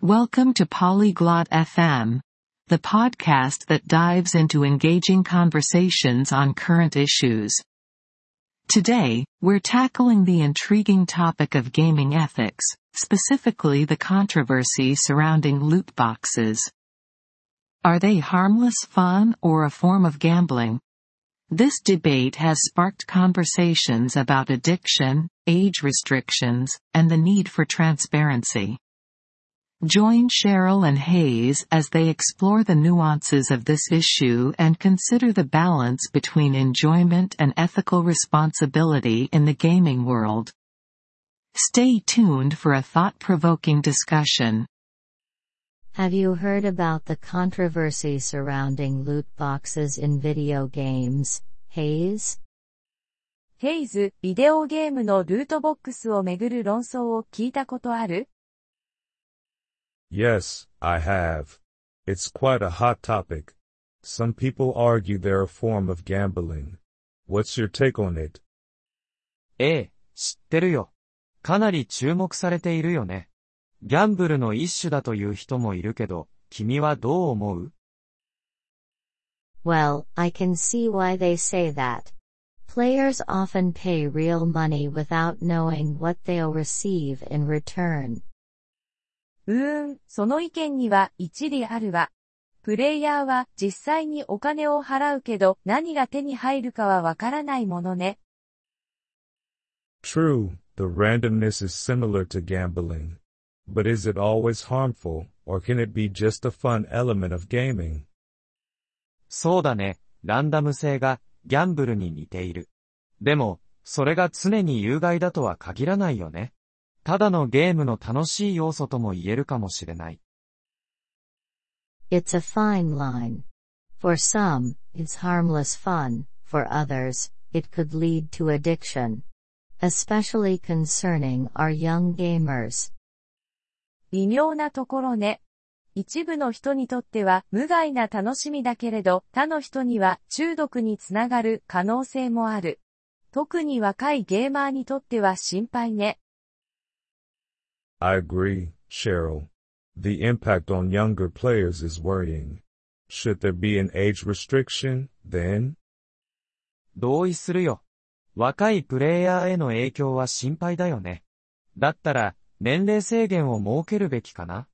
Welcome to Polyglot FM, the podcast that dives into engaging conversations on current issues. Today, we're tackling the intriguing topic of gaming ethics, specifically the controversy surrounding loot boxes. Are they harmless fun or a form of gambling? This debate has sparked conversations about addiction, age restrictions, and the need for transparency. Join Cheryl and Hayes as they explore the nuances of this issue and consider the balance between enjoyment and ethical responsibility in the gaming world. Stay tuned for a thought-provoking discussion. Have you heard about the controversy surrounding loot boxes in video games, Hayes? ヘイズ、ビデオゲームのルートボックスをめぐる論争を聞いたことある？ Yes, I have. It's quite a hot topic. Some people argue they're a form of gambling. What's your take on it? ええ、知ってるよ。かなり注目されているよね。ギャンブルの一種だという人もいるけど、君はどう思う？ Well, I can see why they say that. Players often pay real money without knowing what they'll receive in return. その意見には一理あるわ。プレイヤーは実際にお金を払うけど何が手に入るかはわからないものね。 True, the randomness is similar to gambling. But is it always harmful, or can it be just a fun element of gaming? そうだね、ランダム性がギャンブルに似ている。でも、それが常に有害だとは限らないよね。ただのゲームの楽しい要素とも言えるかもしれない。 It's a fine line. For some, it's harmless fun. For others, it could lead to addiction. Especially concerning our young gamers. 微妙なところね。一部の人にとっては無害な楽しみだけれど、他の人には中毒につながる可能性もある。特に若いゲーマーにとっては心配ね。 I agree, Cheryl. The impact on younger players is worrying. Should there be an age restriction, then? 同意するよ。若いプレイヤーへの影響は心配だよね。だったら、年齢制限を設けるべきかな？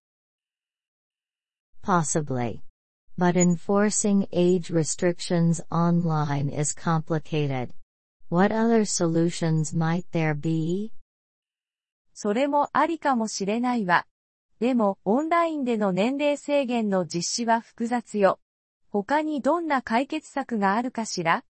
Possibly. But enforcing age restrictions online is complicated. What other solutions might there be? それもありかもしれないわ。でも、オンラインでの年齢制限の実施は複雑よ。他にどんな解決策があるかしら？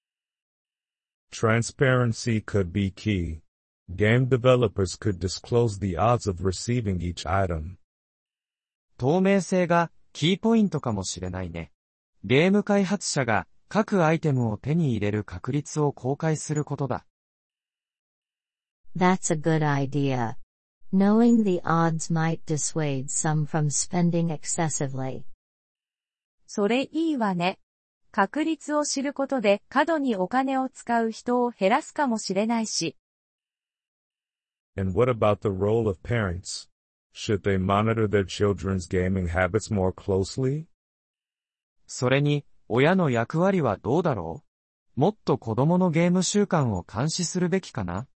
Transparency could be key. Game developers could disclose the odds of receiving each item. 透明性がキーポイントかもしれないね。ゲーム開発者が各アイテムを手に入れる確率を公開することだ。 That's a good idea. Knowing the odds might dissuade some from spending excessively. それいいわね。確率を知ることで過度にお金を使う人を減らすかもしれないし。 And what about the role of parents? Should they monitor their children's gaming habits more closely? それに、親の役割はどうだろう？もっと子供のゲーム習慣を監視するべきかな？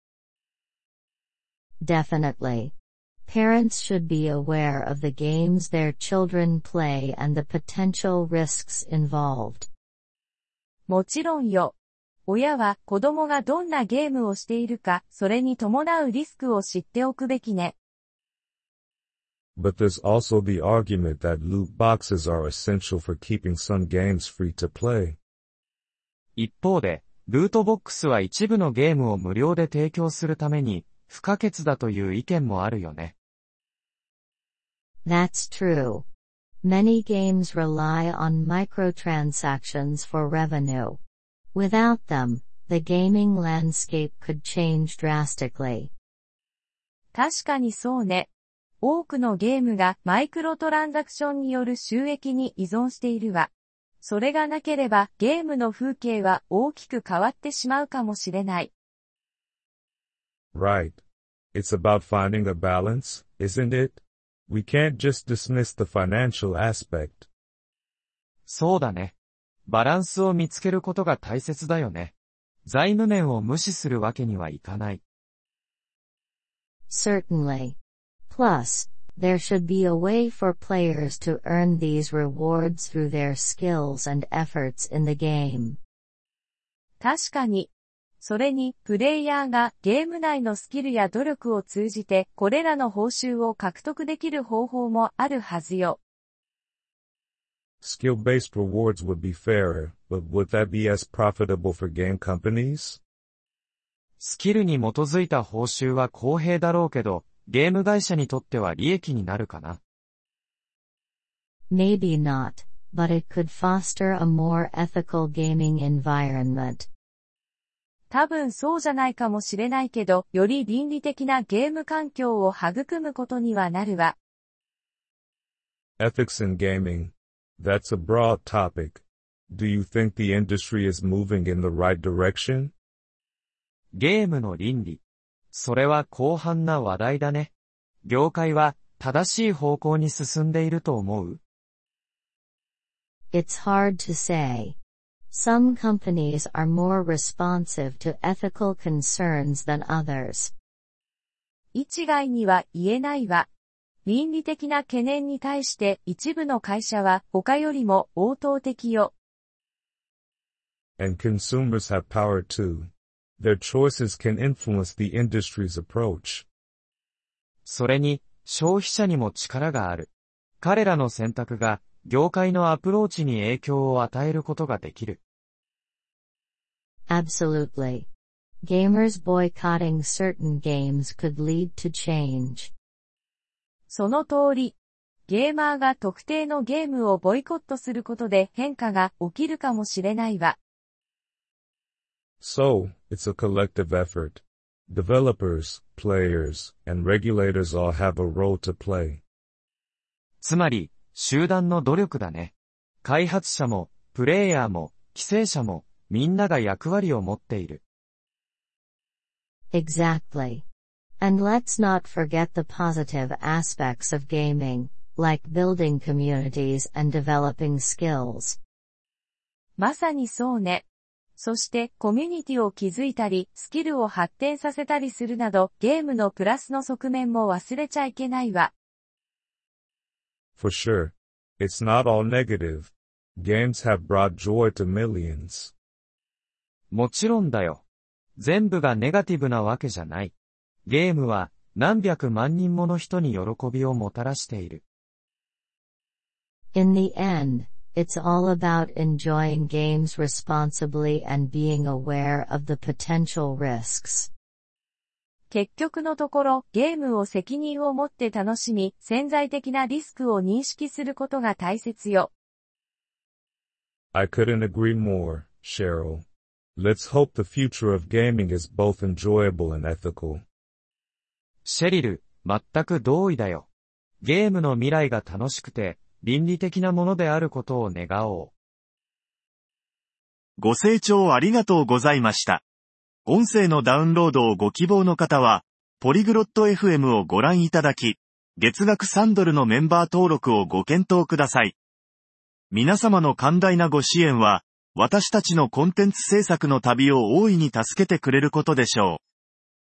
Definitely. Parents should be aware of the games their children play and the potential risks involved. もちろんよ。親は子供がどんなゲームをしているか、それに伴うリスクを知っておくべきね。 But there's also the argument that loot boxes are essential for keeping some games free to play. 一方で、ルートボックスは一部のゲームを無料で提供するために不可欠だという意見もあるよね。 That's true. Many games rely on microtransactions for revenue. Without them, the gaming landscape could change drastically. 確かにそうね。多くのゲームがマイクロトランザクションによる収益に依存しているわ。それがなければゲームの風景は大きく変わってしまうかもしれない。 Right. It's about finding a balance, isn't it? We can't just dismiss the financial aspect. そうだね。バランスを見つけることが大切だよね。財務面を無視するわけにはいかない。 Certainly. Plus, there should be a way for players to earn these rewards through their skills and efforts in the game. 確かに。それに、プレイヤーがゲーム内のスキルや努力を通じて、これらの報酬を獲得できる方法もあるはずよ。 Skill-based rewards would be fairer, but would that be as profitable for game companies? スキルに基づいた報酬は公平だろうけど、ゲーム会社にとっては利益になるかな。 Maybe not, but it could foster a more ethical gaming environment. 多分そうじゃないかもしれないけど、より倫理的なゲーム環境を育むことにはなるわ。 Ethics in gaming. That's a broad topic. Do you think the industry is moving in the right direction? ゲームの倫理。それは広範な話題だね。業界は正しい方向に進んでいると思う？ It's hard to say. Some companies are more responsive to ethical concerns than others. 一概には言えないわ。倫理的な懸念に対して一部の会社は他よりも応答的よ。 And consumers have power too. Their choices can influence the industry's approach. それに、消費者にも力がある。彼らの選択が、業界のアプローチに影響を与えることができる。 Absolutely. Gamers boycotting certain games could lead to change. その通り。ゲーマーが特定のゲームをボイコットすることで変化が起きるかもしれないわ。 So, it's a collective effort. Developers, players, and regulators all have a role to play. つまり、集団の努力だね。開発者も、プレイヤーも、規制者も、みんなが役割を持っている。 Exactly. And let's not forget the positive aspects of gaming, like building communities and developing skills. まさにそうね。そしてコミュニティを築いたり、スキルを発展させたりするなど、ゲームのプラスの側面も忘れちゃいけないわ。 For sure. It's not all negative. Games have brought joy to millions. もちろんだよ。全部がネガティブなわけじゃない。ゲームは何百万人もの人に喜びをもたらしている。 In the end, it's all about enjoying games responsibly and being aware of the potential risks. 結局のところ、ゲームを責任を持って楽しみ、潜在的なリスクを認識することが大切よ。 I couldn't agree more, Cheryl. Let's hope the future of gaming is both enjoyable and ethical. シェリル、全く同意だよ。ゲームの未来が楽しくて、倫理的なものであることを願おう。 ご清聴ありがとうございました。音声のダウンロードをご希望の方は、ポリグロット FM をご覧いただき、月額$3のメンバー登録をご検討ください。皆様の寛大なご支援は、私たちのコンテンツ制作の旅を大いに助けてくれることでしょう。